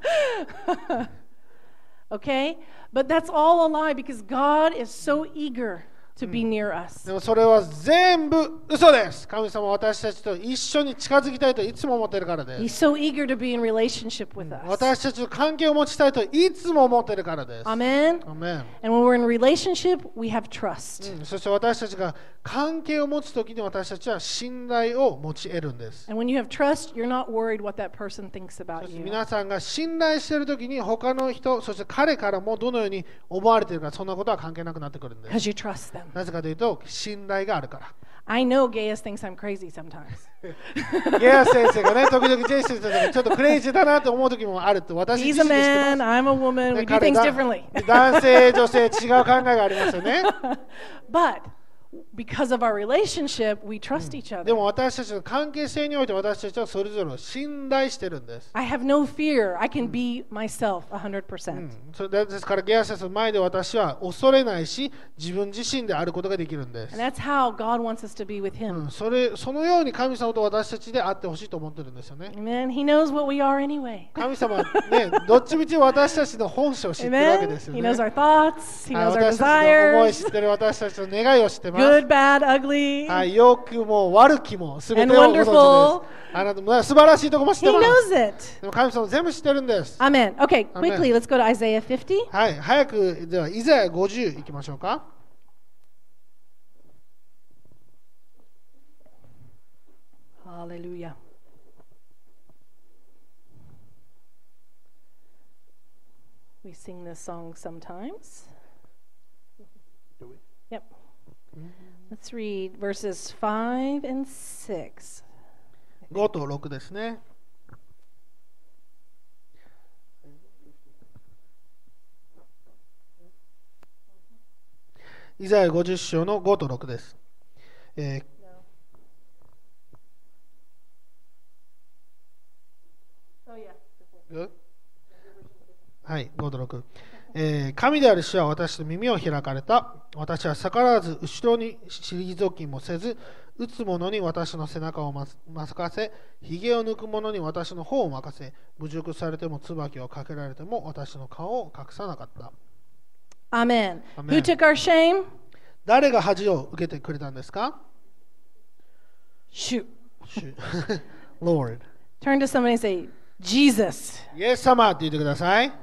Okay? But that's all a lie because God is so eager to be near us. でもそれは全部嘘です。神様は私たちと一緒に近づきたいといつも思っているからで He's す。 so eager to be in relationship with us. 私たちと関係を持ちたいといつも思っているからです。 Amen? アメン。 And when we're in relationship, we have trust. うんそして私たちが関係を持つときに私たちは信頼を持ち得るんです。 And when you have trust, you're not worried what that person thinks そ about して you. 皆さんが信頼しているときに他の人、そして彼からもどのように思われているか、そんなことは関係なくなってくるんです。 Because you trust them. なぜかというと信頼があるから。 I know Gaius thinks I'm crazy sometimes. ゲア先生がね、時々ジェイ先生がちょっとクレイジーだなと思うときもあるって私 He's 自 a 身で知ってま man, す。 I'm a woman, ね we do 彼 things が differently. 男性、女性違う考えがありますよね。 But because of our relationship, we trust each で other. も私たちの関係性において私たちはそれぞれを信頼してるんです。 I have no fear. I can be myself one hundred う percent. ん、それですからゲアセスの前で私は恐れないし自分自身であることができるんです。 And that's how God wants us to be with う Him. ん、それそのように神様と私たちであってほしいと思ってるんですよね。 Amen. He knows what we are anyway. 神様はね、どっちみち私たちの本性を知ってるわけで Amen. すよ He ね。 knows our thoughts. He はい、 knows our 私たちの思い desires. 知ってる、私たちの願いを知ってます。 Good, bad, ugly. はい、良くも悪きもすべ And てをご存知です。 wonderful. あなたも素晴らしいところも知っ He てます。 knows it. でも神様全部知ってるんです。 Amen. Okay, Amen. quickly, let's go to Isaiah fifty. はい、早くではイザヤごじゅういきましょうか。 Hallelujah. We sing this song sometimes. Yep. Let's read verses five and six. ごとろくですね。イザヤごじゅっ章のごとろくです。えー Oh, yeah. はい、ごとろく、えー神である主は私と耳を開かれた。私は逆らわず後ろに退きもせず、打つ者に私の背中をまかせ、ひげを抜く者に私の方を任せ、侮辱されても椿をかけられても私の顔を隠さなかった。 Amen. Amen. Who took our shame? 誰が恥を受けてくれたんですか？ Shoot. 主Lord。 Turn to somebody and say, Jesus. イエス様って言ってください。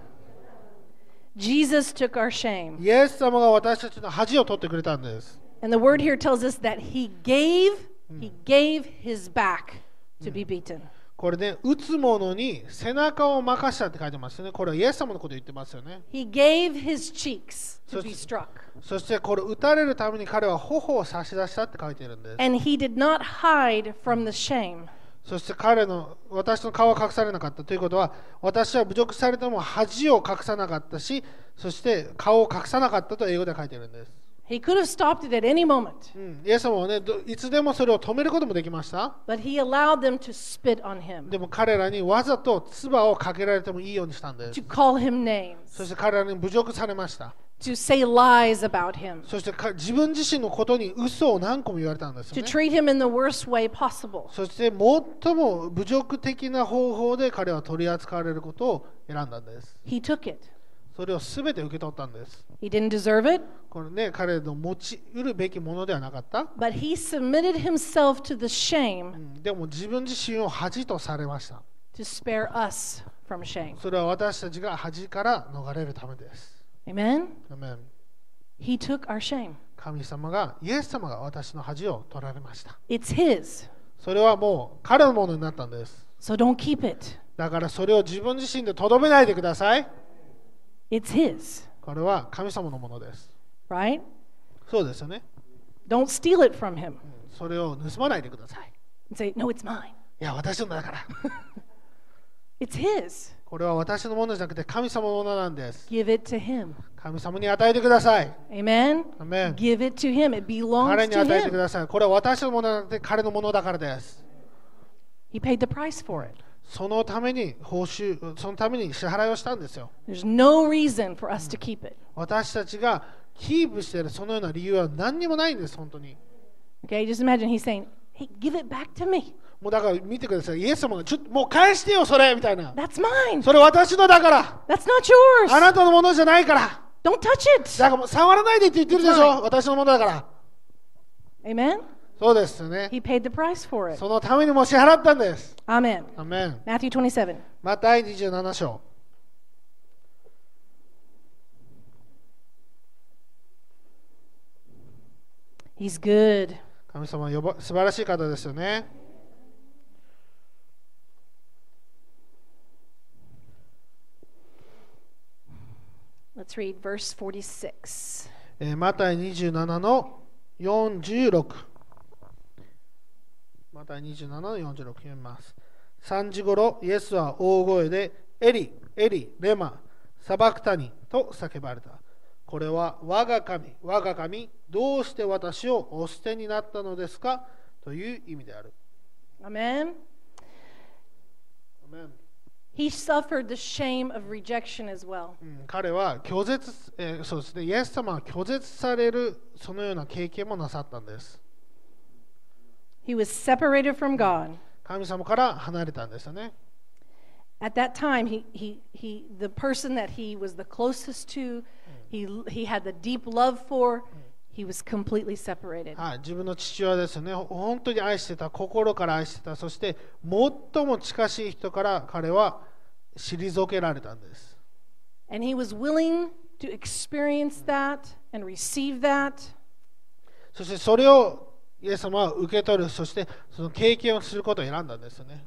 Jesus took our shame. イエス様が私たちの恥を取ってくれたんです。 And the word here tells us that he gave, he gave his back to be beaten. これね、打つ者に背中を任したって書いてますよね。これはイエス様のことを言ってますよね。 He gave his cheeks to So- be struck. そしてこれ打たれるために彼は頬を差し出したって書いているんです。 And he did not hide from the shame. そして彼の私の顔は隠されなかったということは、私は侮辱されても恥を隠さなかったし、そして顔を隠さなかったと英語で書いているんです。 He could have stopped it at any moment, うん、イエス様はね、どいつでもそれを止めることもできました。 but he allowed them to spit on him, でも彼らにわざと唾をかけられてもいいようにしたんです。 to call him names, そして彼らに侮辱されました。 to say lies about him, そしてか自分自身のことに嘘を何個も言われたんです to よね。 treat him in the worst way possible. そして最も侮辱的な方法で彼は取り扱われることを選んだんです。 He took it. それを全て受け取ったんです。 He didn't deserve it, これね、彼の持ち得るべきものではなかった。 but he submitted himself to the う shame ん、でも自分自身を恥とされました。 to spare us from shame. それは私たちが恥から逃れるためです。 Amen? アメン。 He took our shame. 神様が、イエス様が私の恥を取られました。 It's his, それはもう彼のものになったんです。 so don't keep it. だからそれを自分自身でとどめないでください。 It's his, これは神様のものです。 right? そうですよね。 Don't steal it from him うん、それを盗まないでください。 and say, no, it's mine. いや、私のだから。 It's his. これは私のものじゃなくて神様のものなんです。 Give it to him. 神様に与えてください。 Amen? アメン。 Give it to him. It 彼 belongs に to 与えてく him. ださい。これは私のものじゃなくて彼のものだからです。 He paid the price for it. そのために報酬、そのために支払いをしたんですよ。 There's no reason for us to keep it. 私たちがキープしているそのような理由は何にもないんです、本当に。 Okay, just imagine he's saying, hey, give it back to me. もうだから見てください。イエス様がちょっともう返してよ、それみたいな。 That's mine. それ私のだから。 That's not あ yours. なたのものじゃないから。 Don't touch it. だからもう触らないでって言ってるでしょ。私のものだから。 Amen? そうですよね。 He paid the price for it. そのためにも支払ったんです。 Amen. アメン。 Matthew twenty-seven. マタイにじゅうなな章。 He's good. 神様はよば素晴らしい方ですよね。 Let's read verse forty-six. えーマタイにじゅうななのよんじゅうろく。マタイにじゅうななのよんじゅうろく読みます。さんじごろ、イエスは大声で、エリ、エリ、レマ、サバクタニと叫ばれた。 これは我が神、我が神、どうして私をお捨てになったのですかという意味である。 Amen. Amen. He suffered the shame of rejection as well. うん、彼は拒絶、えー、そうですね、イエス様は拒絶されるそのような経験もなさったんです。 He was separated from God. 神様から離れたんですよね。 At that time, he, he, he, the person that he was the closest to, he, he had the deep love for, he was completely separated. はい、自分の父親ですよね。本当に愛してた、心から愛してた、そして最も近しい人から彼は退けられたんです。 And he was willing to experience that and receive that. そしてそれをイエス様は受け取る、そしてその経験をすることを選んだんですよね。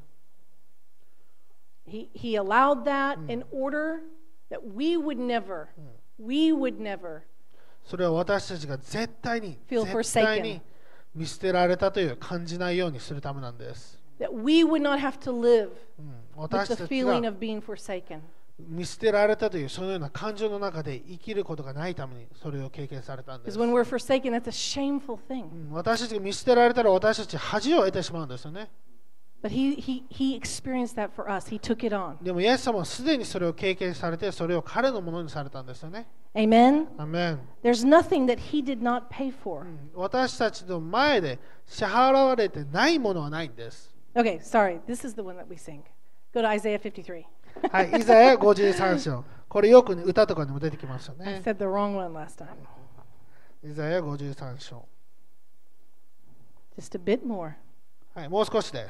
He, he allowed that in order that we would never, we would never それは私たちが絶対に feel 絶対 forsaken. に見捨てられたという感じないようにするためなんです。 That we would not have to live うん、 with 私 the たち feeling が of being forsaken. 見捨てられたというそのような感情の中で生きることがないためにそれを経験されたんで Because す。 when we're forsaken, that's a shameful う thing. ん、私たちが見捨てられたら私たち恥を得てしまうんですよね。 But he, he, he experienced that for us. He took it on. でもイエス様はすでにそれを経験されてそれを彼のものにされたんですよね。 Amen? アメン。 There's nothing that he did not pay for. 私たちの前で支払われてないものはないんです。 Okay, sorry. This is the one that we sing. Go to Isaiah fifty-three. はい、イザヤごじゅうさん章。これよく歌とかにも出てきますよ I ね。 said the wrong one last time. イザヤごじゅうさん章。 Just a bit more. はい、もう少しです。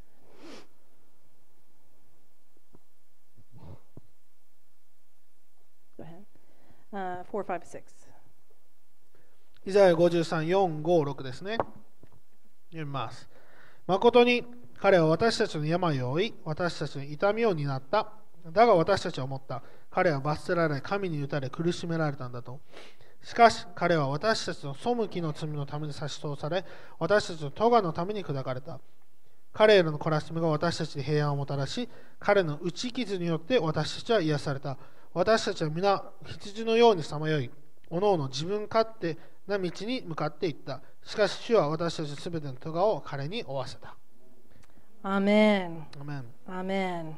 Go ahead. Uh, four, five, six. イザヤごじゅうさん、よん、ご、ろくですね。読みます。誠に彼は私たちの病を負い、私たちの痛みを担った。だが私たちは思った。彼は罰せられ、神に打たれ苦しめられたんだと。しかし彼は私たちの背きの罪のために差し通され、私たちの咎のために砕かれた。彼への懲らしめが私たちに平安をもたらし、彼の打ち傷によって私たちは癒された。私たちは皆羊のようにさまよい、おのおの自分勝手な道に向かっていった。しかし主は私たちすべての咎を彼に負わせた。 Amen. アメン。 Amen.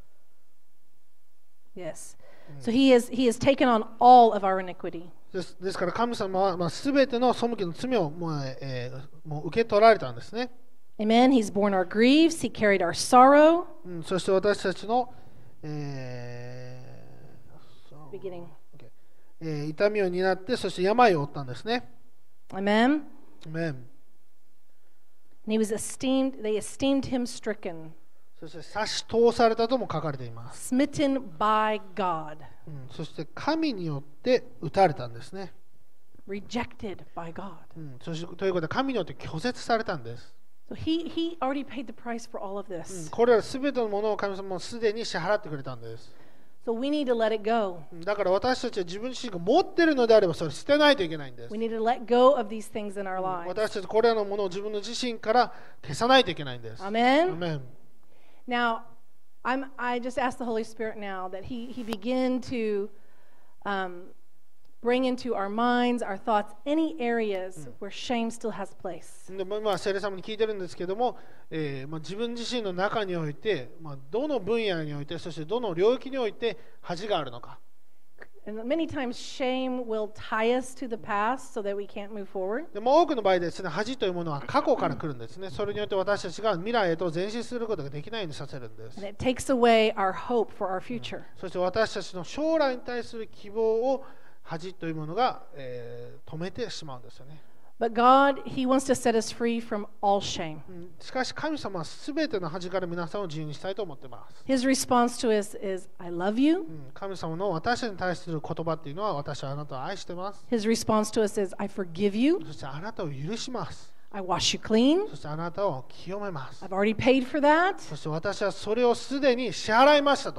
Yes. So he has, he has taken on all of our iniquity. ですですから神様は、まあ、全ての背きの罪をもう、えーもう受け取られたんですね。 Amen. He's borne our griefs. He carried our sorrow. うん、そして私たちの、えーそう Beginning. OK えー痛みを担って、そして病を負ったんですね。 Amen. アメン。 And he was esteemed, they esteemed him stricken, そして差し通されたとも書かれています。 smitten by God, うん、そして神によって打たれたんですね。 rejected by God. うん、そしてということで神によって拒絶されたんです。 So he, he already paid the price for all of うん、 this. これら全てのものを神様もすでに支払ってくれたんです。 So we need to let it go. うん、だから私たちは自分自身が持っているのであればそれ捨てないといけないんです。 We need to let go of these things in our lives. 私たちこれらのものを自分の自身から消さないといけないんです。ア Amen. メン。 Now, I'm, I just ask the Holy Spirit now that He, he begin to um, bring into our minds, our thoughts, any areas where shame still has place. でまあ、聖霊様に聞いてるんですけども、えーまあ、自分自身の中において、まあ、どの分野において、そしてどの領域において恥があるのか。 And many times shame will tie us to the past so that we can't move forward. でも多くの場合ですね、恥というものは過去から来るんですね。それによって私たちが未来へと前進することができないようにさせるんです。 And it takes away our hope for our future. そして私たちの将来に対する希望を恥というものが、えー止めてしまうんですよね。 But God, He wants to set us free from all shame. うんしかし神様はすべての恥から皆さんを自由にしたいと思っています。 His response to us is, I love you. うん神様の私に対する言葉っていうのは、私はあなたを愛してます。 His response to us is, I forgive you. そしてあなたを許します。 I wash you clean. そしてあなたを清めます。 I've already paid for that. そして私はそれをすでに支払いましたと。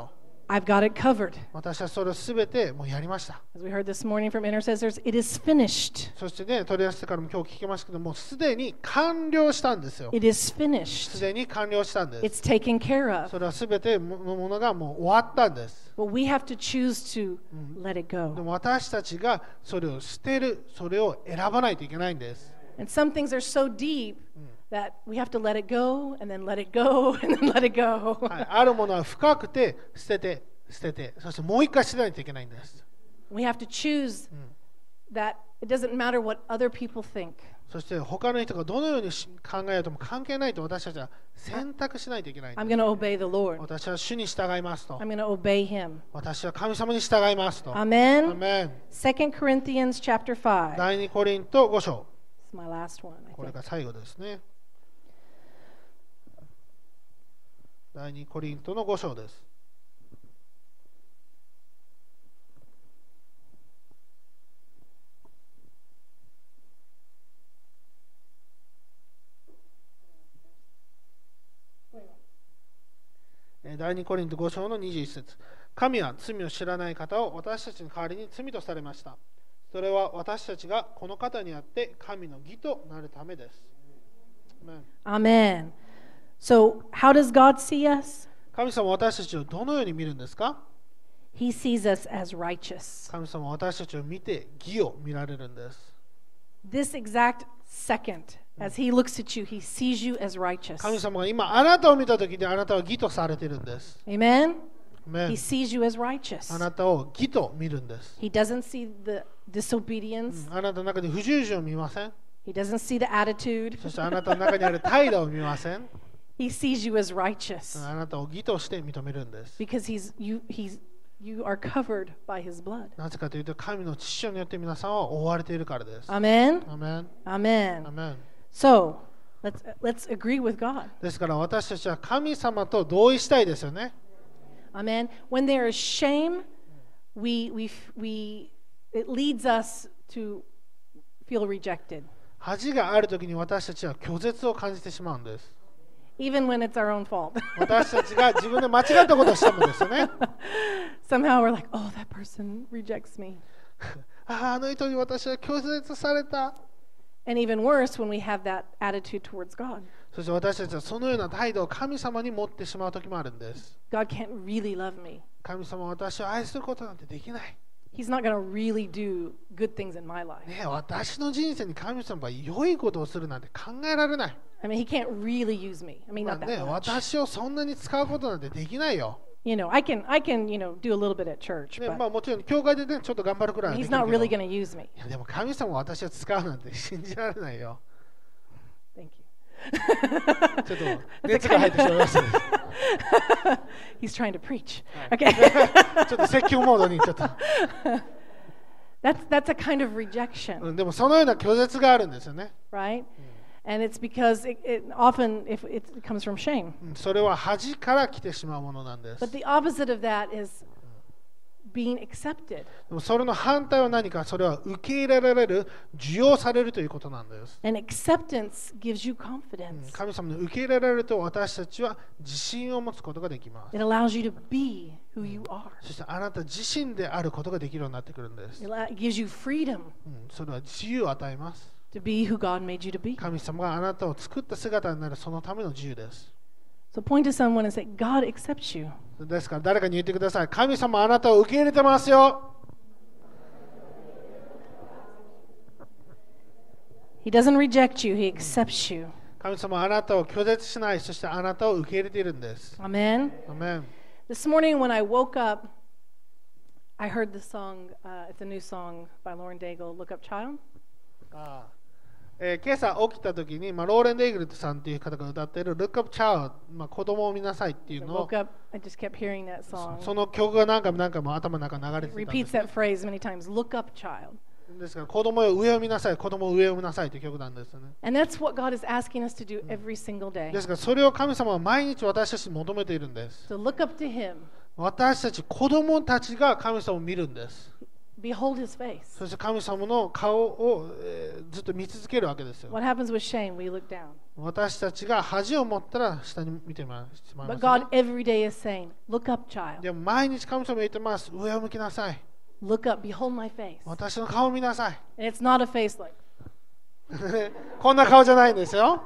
I've got it covered. 私はそれをすべてもうやりました。 As we heard this morning from intercessors, it is finished. そしてね、取り出してからも今日聞きましたけども、すでに完了したんですよ。 It is す finished. でに完了したんです。 It's taken care of. それはすべてのものがもう終わったんです。 But we have to choose to let it で go. も私たちがそれを捨てる、それを選ばないといけないんです。 And some things are so deep that we have to let it go and then let it go and then let it go. はい、あるものは深くて捨てて捨てて、そしてもう一回捨てないといけないんです。 We have to choose that it doesn't matter what other people think. そして他の人がどのように考えようとも関係ないと私たちは選択しないといけないんで I'm す。 going to obey the Lord. 私は主に従いますと。 I'm going to obey him. 私は神様に従いますと。ア Amen. メン。 Second Corinthians chapter five. 第二コリントご章。 It's my last one, I これ think. が最後ですね。第二コリントのご章です。第二コリントご章のにじゅういち節。神は罪を知らない方を私たちの代わりに罪とされました。それは私たちがこの方にあって神の義となるためです。アメン。 Amen. So, how does God see us? 神様は私たちをどのように見るんですか？ He sees us as righteous. 神様は私たちを見て義を見られるんです。 This exact second, as He looks at you, He sees you as righteous. 神様が今あなたを見たときにあなたは義とされているんです。 Amen? アメン。 He sees you as righteous. あなたを義と見るんです。 He doesn't see the disobedience. あなたの中に不従順を見ません。 He doesn't see the attitude. そしてあなたの中にある態度を見ません。 He sees you as righteous あなたを義として認めるんです。 because he's you he's you are covered by his blood. なぜかというと神の父親によって皆さんは覆われているからです。 Amen. アメン。 Amen. アメン。 So, let's let's agree with God. ですから私たちは神様と同意したいですよね。 Amen. When there is shame, we we we it leads us to feel rejected. 恥があるときに私たちは拒絶を感じてしまうんです。 Even when it's our own fault. 私たちが自分で間違ったことをしてもですよね。 Somehow we're like, oh, that person rejects me. ああ、あの人に私は拒絶された。 And even worse, when we have that attitude towards God. そして私たちはそのような態度を神様に持ってしまうときもあるんです。 God can't really love me. 神様は私を愛することなんてできない。 He's not going to really do good things in my life. ねえ、私の人生に神様が良いことをするなんて考えられない。 I mean, he can't really use me. I mean, まあ not ね、 that much. 私をそんなに使うことなんてできないよ。 You know, I can, I can, you know, do a little bit at church, ね、 but まあもちろん教会でね、ちょっと頑張るくらいはで he's きる not けど really going to use me. いやでも神様を私を使うなんて信じられないよ。 Thank you. ちょっと熱が入ってしまいましたね。 He's trying to preach. Okay. ちょっと説教モードにちょっと。 that's that's a kind of rejection, うん、でもそのような拒絶があるんですよね。 right? And it's because it, it often if it comes from shame. うん、それは恥から来てしまうものなんです。 But the opposite of that is being accepted. でもそれの反対は何か、それは受け入れられる、受容されるということなんです。 And acceptance gives you うん、 confidence. 神様に受け入れられると私たちは自信を持つことができます。 It allows you to be who you are. そしてあなた自身であることができるようになってくるんです。 It allow- it gives you freedom うん、それは自由を与えます。 to be who God made you to be. 神様があなたを作った姿になるそのための自由です。 So point to someone and say, God accepts you. ですから誰かに言ってください。神様あなたを受け入れてますよ。 He doesn't reject you, He accepts you. 神様はあなたを拒絶しない、そしてあなたを受け入れているんです。 Amen. アメン。 This morning when I woke up, I heard the song, uh, it's a new song by Lauren Daigle, Look Up Child. ああえー今朝起きた時に、まあ、ローレン・デイグルトさんという方が歌っている Look Up Child、まあ、子供を見なさいっていう I のを woke up, I just kept hearing that song. その曲が何回も何回も頭の中に流れ It てたんで repeats す。 that phrase many times, Look up, child. ですから子供よ上を見なさい、子供を上を見なさいという曲なんですよね。 And that's what God is asking us to do every single day. ですからそれを神様は毎日私たちに求めているんです。 So look up to Him. 私たち子供たちが神様を見るんです。 behold his face. そして神様の顔を、えーずっと見続けるわけですよ。 What happens with shame? We look down. 私たちが恥を持ったら下に見てしまいま But す、 God ね。 every day is saying, look up, child. でも毎日神様言ってます。上を向きなさい。 Look up, behold my face. 私の顔を見なさい。 And it's not a face like, こんな顔じゃないんですよ。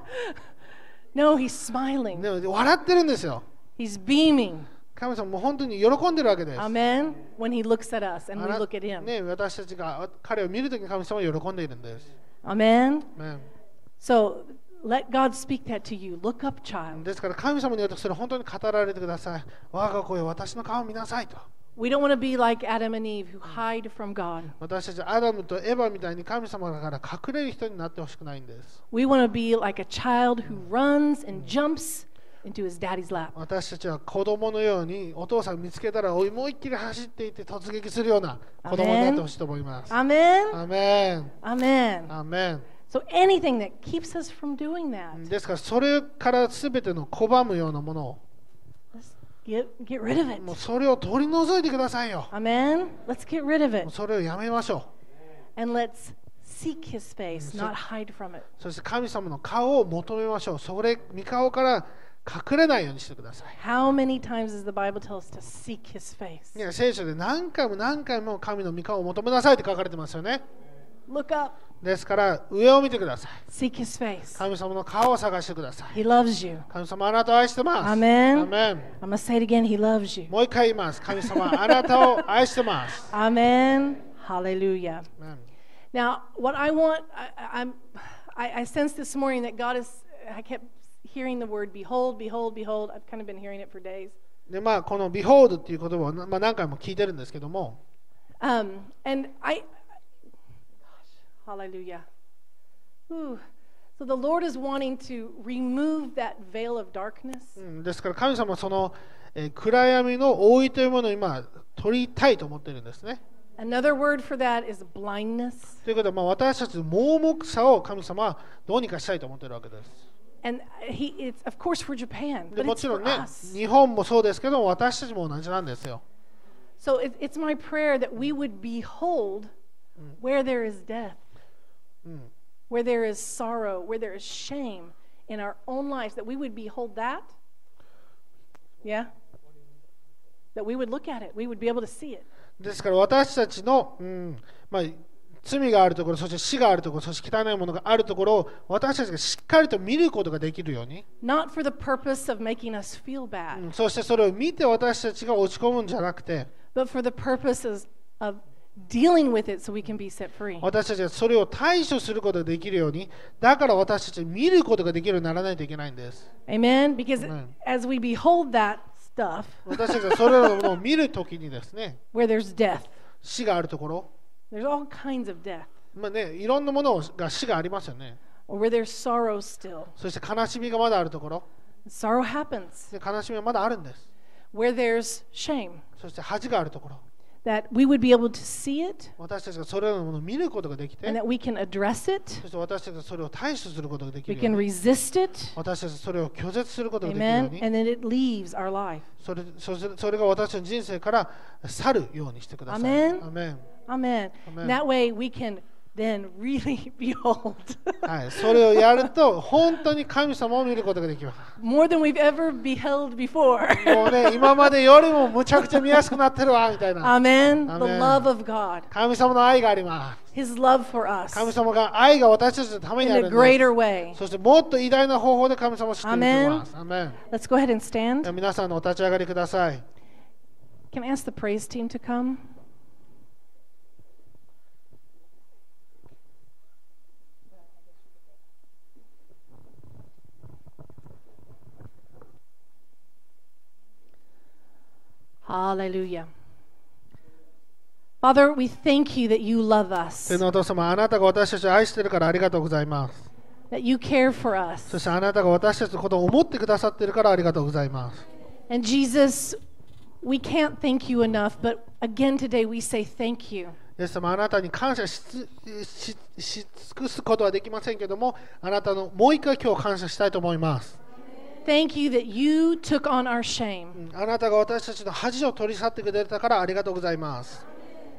no, he's smiling. でも笑ってるんですよ。 He's beaming. 神様もう本当に喜んでるわけです。 Amen. When he looks at us and あ we な look at him. ね、私たちが彼を見るときに神様は喜んでいるんです。 Amen. ね So let God speak that to you. Look up, child. ですから神様によってそれ本当に語られてください。我が子よ、私の顔を見なさいと。 We don't want to be like Adam and Eve who hide from God. 私たちアダムとエヴァみたいに神様から隠れる人になってほしくないんです。 We want to be like a child who runs and jumps into his daddy's lap. 私たちは子供のようにお父さんを見つけたら思いっきり走っていって突撃するような子供になってほしいと思います。 Amen. アメン。 Amen. アメン。 So anything that keeps us from doing that, ですからそれからすべての拒むようなものを let's get, get rid of it. もうそれを取り除いてくださいよ。 Amen. Let's get rid of も it. うそれをやめましょ And let's seek his face, so- not hide from it. う。そして神様の顔を求めましょう。それ、御顔から隠れないようにしてください。 How many times does the Bible tell us to seek his face? ね、聖書で何回も何回も神の御顔を求めなさいって書かれてますよね。 Look up, ですから上を見てください。 seek his face. 神様の顔を探してください。 He loves you. 神様あなたを愛してます。 アメンアメン。 I'm going to say it again. He loves you. もう一回言います。神様あなたを愛してます。 Amen. Hallelujah. アメン Now, what I want, I, I'm, I, I sensed this morning that God is, I kept hearing the word behold, behold, behold. I've kind of been hearing it for days. でまあ、この Behold っていう言葉を、まあ、何回も聞いてるんですけども、 Um, and I, gosh, hallelujah. Ooh. So the Lord is wanting to remove that veil of darkness. うんですから神様はその、えー暗闇の覆いというものを今取りたいと思ってるんですね。 Another word for that is blindness. ということは、まあ、私たちの盲目さを神様はどうにかしたいと思ってるわけです。 And he, it's of course for Japan, で but も it's ちろ for んね、 us. 日本もそうですけども、私たちも同じなんですよ。 So it, it's my prayer that we would behold where there is death, うん where there is sorrow, where there is shame in our own lives, that we would behold that. Yeah? That we would look at it, we would be able to see it. ですから私たちの、うんまあ、罪があるところ、そして死があるところ、そして汚いものがあるところを私たちがしっかりと見ることができるように、 Not for the purpose of making us feel う bad, んそしてそれを見て私たちが落ち込むんじゃなくて、 but for the purposes of dealing with it so we can be set free. 私たちがそれを対処することができるように、だから私たちは見ることができるようにならないといけないんです。 Amen? Because Amen. as we behold that stuff, 私たちがそれらのものを見るときにですね、 where there's death, 死があるところ、 there's all kinds of death, まあね、いろんなものが死がありますよね。 or where there's sorrow still. そして悲しみがまだあるところ、 Sorrow happens. で悲しみはまだあるんです。 Where there's shame, そして恥があるところ、 that we would be able to see it 私たちがそれらのものを見ることができて、 and that we can address it, そして私たちがそれを対処することができ we るよ can うに、 resist it, 私たちがそれを拒絶することができるよう amen, に、 and then it leaves our life. それそしてそれが私たちの人生から去るようにしてください。 Amen. アメン Amen. Amen. That way we can then really behold はい、それをやると本当に神様を見ることができます。 more than we've ever beheld before. もうね、今までよりもむちゃくちゃ見やすくなってるわみたいな。 Amen. The Amen. love of God, 神様の愛があります。 His love for us 神様が愛が私たちのために in あ a るんです。 greater way. そしてもっと偉大な方法で神様を知っていきます。アメン。 Let's go ahead and では stand. 皆さんのお立ち上がりください。 Can I ask the praise team to come? Hallelujah. Father, we thank you that you love us, 天のお父様、あなたが私たちを愛しているからありがとうございます。 that you care for そ us. してあなたが私たちのことを思ってくださっているからありがとうございます。 And Jesus, we can't thank you enough, but again today we say thank you. イエス様、あなたに感謝しつしし尽くすことはできませんけども、あなたのもう一回今日感謝したいと思います。 Thank you that you took on our shame. あなたが私たちの恥を取り去ってくれたからありがとうございます。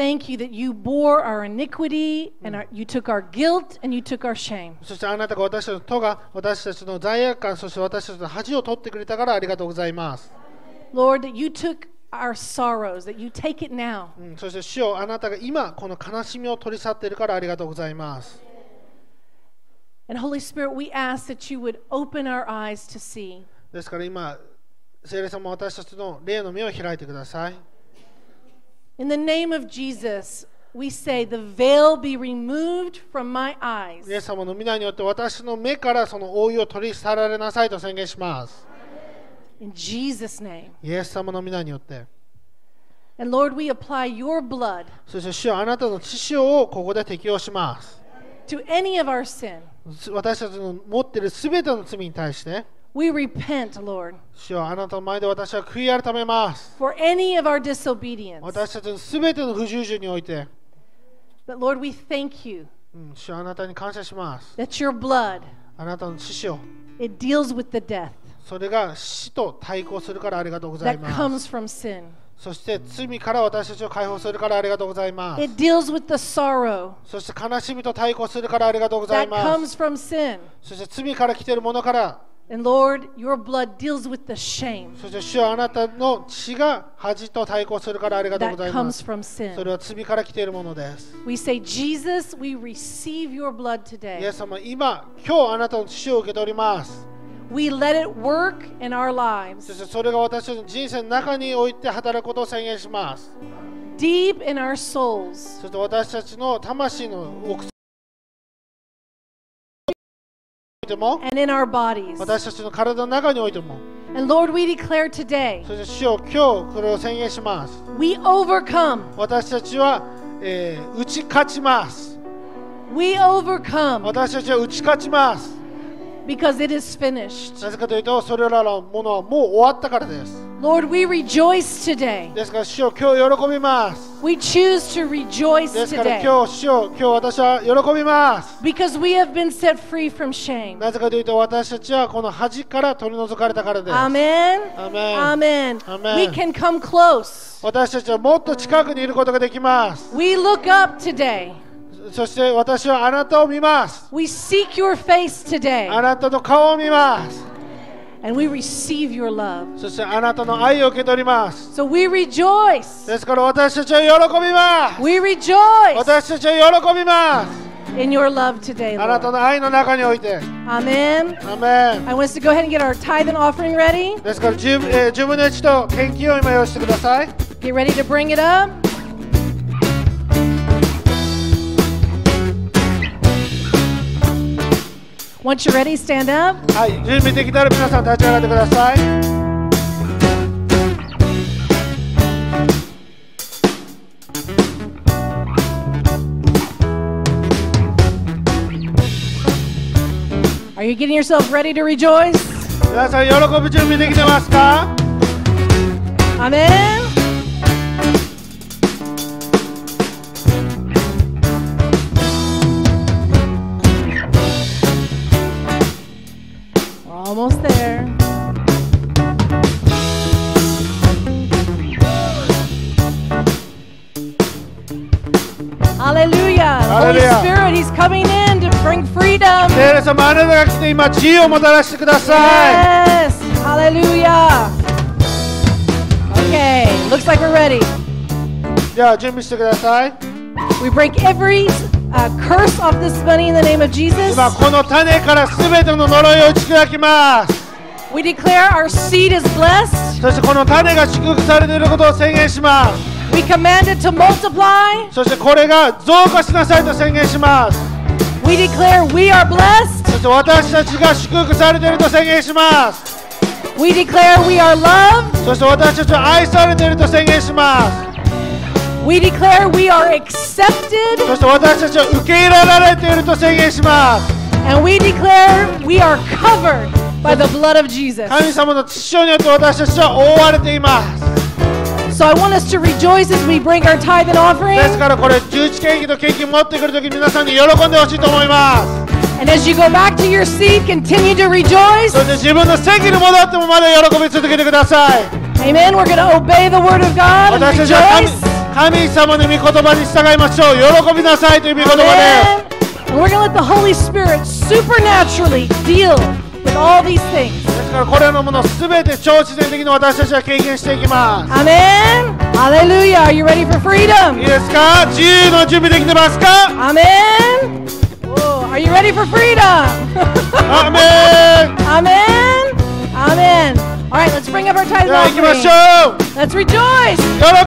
thank you that you bore our iniquity and our, you took our guilt and you took our shame. そしてあなたが私たちの咎、私たちの罪悪感、そして私たちの恥を取ってくれたからありがとうございます。 Lord, that you took our sorrows, that you take it now. うん、そして主よ、あなたが今この悲しみを取り去っているからありがとうございます。 And Holy Spirit, we ask that you would open our eyes to see. ですから今、聖霊様私たちの霊の目を開いてください。 In the name of Jesus, we say, the veil be removed from my eyes. イエス様の皆によって私の目からその覆いを取り去られなさいと宣言します。 In Jesus' name. イエス様の皆によって。 And Lord, we apply your blood そして主よ、あなたの血潮をここで適用します。 to any of our sin. 私たちの持っているすべての罪に対して、 We repent, Lord, 主よ、あなたの前で私は悔い改めます。 for any of our disobedience. 私たちのすべての不従順において、 But Lord, we thank you うん、主よ、あなたに感謝します。 that your blood, あなたの血潮、 it deals with the death それが死と対抗するからありがとうござい that ます。 comes from sin. そして罪から私たちを解放するからありがとうございます。 It deals with the sorrow そして悲しみと対抗するからありがとうござい that ます。 comes from sin. そして罪から来ているものから、 And Lord, your blood deals with the shame そして主よ、あなたの血が恥と対抗するからありがとうご that ざいま comes す。 from そ sin. れは罪から来ているものです。 We say, Jesus, we receive your blood イ today. エス様、今、今日あなたの血を受け取ります。 We let it work in our そし lives, てそれが私たちの人生の中において働くことを宣言します。 deep in our souls. そして私たちの魂の奥底においても、 And in our bodies. 私たちの体の中においても、 And Lord, we declare today, そして主よ、今日これを宣言します。 we overcome. 私たちは、えー打ち勝ちます。 We overcome 私たちは打ち勝ちます。 because it is finished. なぜかというと、それらのものはもう終わったからです。 Lord, we rejoice today. ですから主よ、今日喜びます。 We choose to rejoice ですから today 今日主よ、今日私は喜びます。 because we have been set free from shame. なぜかというと、私たちはこの恥から取り除かれたからです。 Amen. アメン Amen. Amen. We can come close. 私たちはもっと近くにいることができます。 We look up today. そして私はあなたを見ます。 We seek your face あ today. なたの顔を見ます。 And we receive your love. そしてあなたの愛を受け取ります。 So we rejoice. ですから私たちは喜びます。 We rejoice 私たちは喜びます。 in your love today, あなた Lord. の愛の中において。 Amen. アメン。 I want us to go ahead and get our tithe and offering ready. ですからじゅう、えー、じゅうぶんのいちと献金を今用意してください。 Get ready to bring it up. Once you're ready, stand up. はい、準備できたら皆さん立ち上がってください。 Are you getting yourself ready to rejoice? 皆さん喜ぶ準備できてますか？ Amen. We're almost there. Hallelujah. The Holy Hallelujah. Spirit, He's coming in to bring freedom. 聖霊様、あなたが来て今自由をもたらしてください。 Yes. Hallelujah. Okay. Looks like we're ready. では準備してください。 We break every uh, curse off this money in the name of Jesus. 今この種からすべての呪いを打ち砕きます。 We declare our seed is blessed. そしてこの種が祝福されていることを宣言します。 We command it to multiply. そしてこれが増加しなさいと宣言します。 We declare we are blessed. そして私たちが祝福されていると宣言します。 We declare we are loved. そして私たちは愛されていると宣言します。 We declare we are accepted. そして私たちは受け入れられていると宣言します。 And we declare we are covered by the blood of Jesus. 神様の血潮によって私たちは覆われています。 So I want us to rejoice as we bring our tithe and offering. ですからこれ十一献金と献金持ってくるとき皆さんに喜んでほしいと思います。 And as you go back to your seat, continue to rejoice. そして自分の席に戻ってもまだ喜び続けてください。 Amen. We're going to obey the word of God and 私たちは rejoice. 神様の御言葉に従いましょう。喜びなさいという御言葉 Amen. And we're going to let the Holy Spirit supernaturally deal with all these things. です。ですからこれらのものすべて超自然的に私たちは経験していきます。 Amen. Hallelujah. Are you ready for い freedom? いですか？自由の準備できてますか？ Amen. Whoa. Are you ready for freedom? アーメン。 Amen. Amen. All right, let's bring up our tithes では and 行きましょ offering. う。 Let's rejoice. 喜